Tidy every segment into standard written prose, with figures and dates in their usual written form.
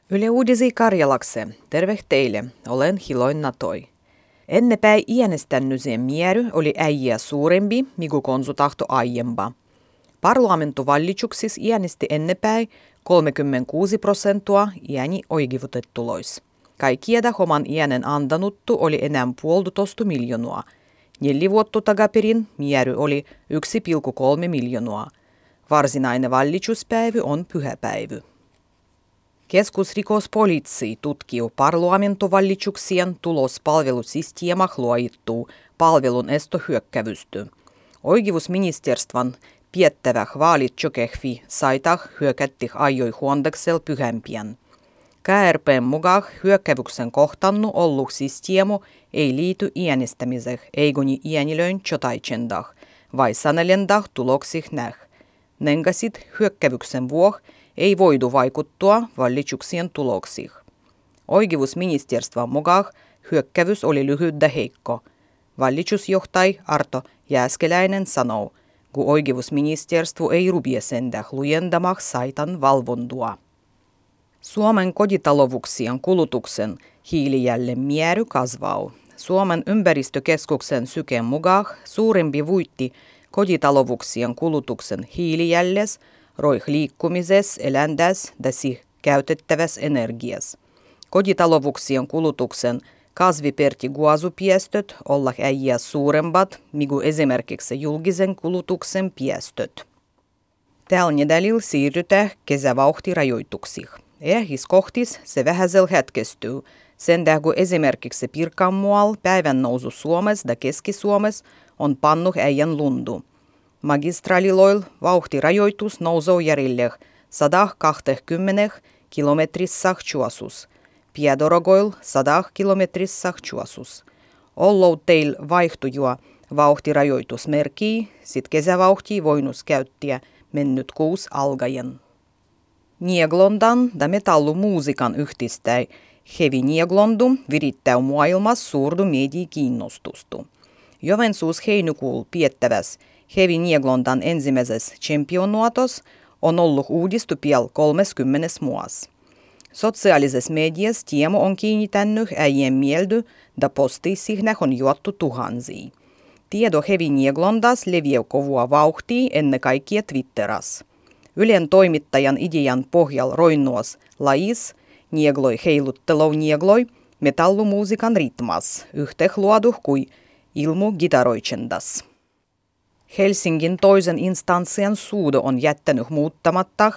Yle Uudisi Karjalakse, terve teille, olen Hiloin Toi. Ennepäin iänestännysen miery oli äijä suurempi, migu konsutahto aiempa. Parlamentuvallitsuksis iänesti ennepäin 36% iäni oikeutettulois. Kaikkieda homan iänen antanuttu oli enää 1,5 miljoonaa. 4 vuotta takaperin miery oli 1,3 miljoonaa. Varsinainen vallitsuspäivy on pyhäpäivy. Keskusrikospoliitsi tutkiu parlamentuvallitsuksien tulospalvelusysteemah luoittuu palvelun estohyökkävystä. Oikeusministeriön piettäväh vaalitjokehvi saitah hyökättih ajoi huondaksel pyhämpien. KRP:n mukaan hyökkävyksen kohtannu ollu systeemu ei liity äänestämiseen eigoni äänilöin jotaitsendah, vai sanelendah tuloksih näh. Nengasit hyökkävyksen vuoh ei voidu vaikuttua vallitsuksien tuloksiin. Oikeusministeriön mukaan hyökkävys oli lyhyt ja heikko. Vallitsusjohtaja Arto Jääskeläinen sanoo, kun oikeusministeriö ei rupia sentään lujendamah saitan valvontua. Suomen kotitalouksien kulutuksen hiilijäljen määry kasvaa. Suomen ympäristökeskuksen Syken mukaan suurempi voitti kotitalouksien kulutuksen hiilijäljes roih liikkumises, eländäs ja siihen käytettäväs energias. Kotitalouksien kulutuksen kasvipertiguasupiestöt olla äijä suurempat, migu esimerkiksi julkisen kulutuksen piestöt. Tällä nedälillä siirrytään kesävauhtirajoituksiin. Ehhiskohtis se vähäsel hetkestyy, sen kun esimerkiksi Pirkanmaalla päivän nousu Suomessa ja Keski-Suomessa on pannuh äijän lundu. Magistraaliloil vauhtirajoitus nousee järjelle 120 kilometrissä chuosus. Piedorogoil 100 kilometrissä chuosus. Ollou teil vaihtujua vauhtirajoitus merkii, sit kesävauhtia voinus käyttää mennyt kuus algajen. Nieglondan ja metallumuusikan yhdistäi hevi Nieglondu virittää maailmassa suurdu mediakiinnostustu. Joensuus heinäkuulla piettäväs hevi Nieglondan ensimmäisessä championuatos on ollut uudistu piel 30 muas. Sosiaalisessa mediassa tiemo on kiinnittänyt äijien mieldy ja postiisihnäh on juottu tuhansia. Tieto hevi Nieglondas leviää kovua vauhtia ennen kaikkea Twitteras. Ylen toimittajan idean pohjal roinnuos lajis Niegloi heiluttelou Niegloi metallumuusikan ritmas, yhteh luoduh kui ilmu gitaroitsendas. Helsingin toisen instanssien suudo on jättänyt muuttamatta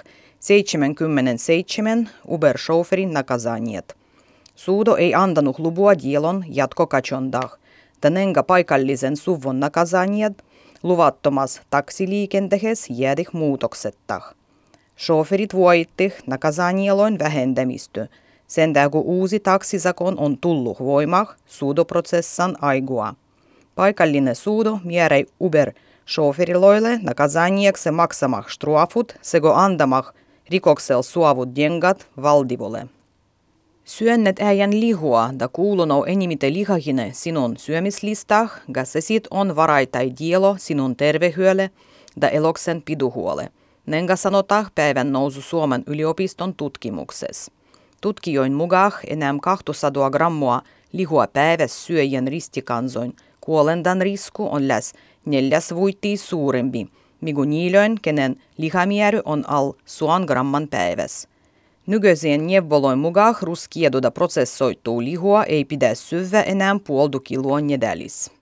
77 Uber-chauffeurin nakazaniet. Suudo ei antanut lupua dielon jatkokachondah, tänenkä paikallisen suvun nakazaniet luvattomas taksiliikentehes jäädih muutoksettah. Chauffeurit voittih nakazanieloin vähentämistä, sen kun uusi taksisakon on tullut voimah suudoprosessan aigua. Paikallinen suudo määräi Uber-chauffeuriloille nakazaniekse maksamah strafut sego andamah rikoksel suovut dengat valdivolle. Syönnet äijän lihua da kuulunoo enimite lihahine sinun syömislistah, se sit on varaitai dielo sinun tervehyölle da eloksen piduhuole. Nenga sanotah päivän nousu Suomen yliopiston tutkimuksessa. Tutkijoin mukaan enää 200 grammua lihua päivässä syöjän ristikansoin kuolendan risku on läs 4 vuotia suurempi, migu niilöin, kenen lihamääry on al 100 gramman päivässä. Nykyiseen neuvoloin mukaan ruskieduda prosessoituu lihua ei pidä syödä enää 0,5 kiloa nedälis.